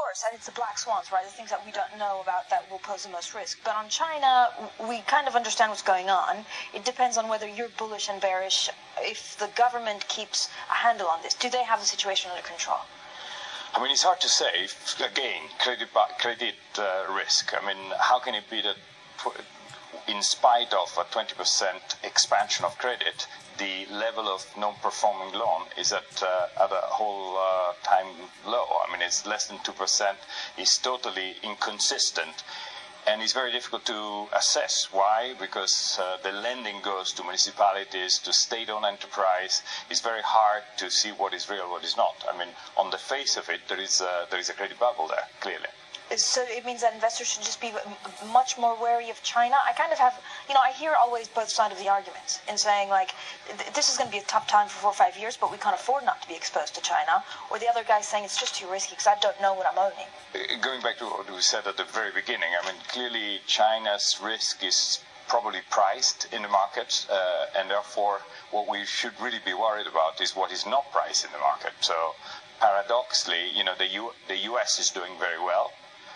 course, and it's the black swans, right? The things that we don't know about that will pose the most risk. But on China, we kind of understand what's going on. It depends on whether you're bullish and bearish. If the government keeps a handle on this, do they have the situation under control? I mean, it's hard to say. Again, credit risk. I mean, how can it be that in spite of a 20% expansion of credit, the level of non-performing loan is at a whole time low? I mean, it's less than 2%. It's totally inconsistent. And it's very difficult to assess. Why? Because the lending goes to municipalities, to state-owned enterprise. It's very hard to see what is real, what is not. I mean, on the face of it, there is a credit bubble there, clearly. So it means that investors should just be much more wary of China. I kind of have, I hear always both sides of the arguments in saying, like, this is going to be a tough time for 4 or 5 years, but we can't afford not to be exposed to China. Or the other guy saying it's just too risky because I don't know what I'm owning. Going back to what we said at the very beginning, I mean, clearly China's risk is probably priced in the market, and therefore what we should really be worried about is what is not priced in the market. So paradoxically, the US is doing very well.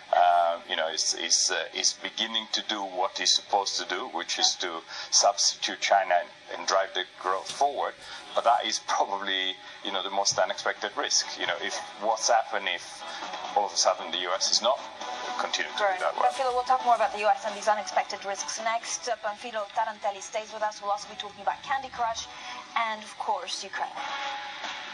Is beginning to do what it's supposed to do, which is to substitute China and drive the growth forward. But that is probably, the most unexpected risk. If what's happened if all of a sudden the US is not continuing to do that well. Panfilo, we'll talk more about the US and these unexpected risks next. Panfilo Tarantelli stays with us. We'll also be talking about Candy Crush and, of course, Ukraine.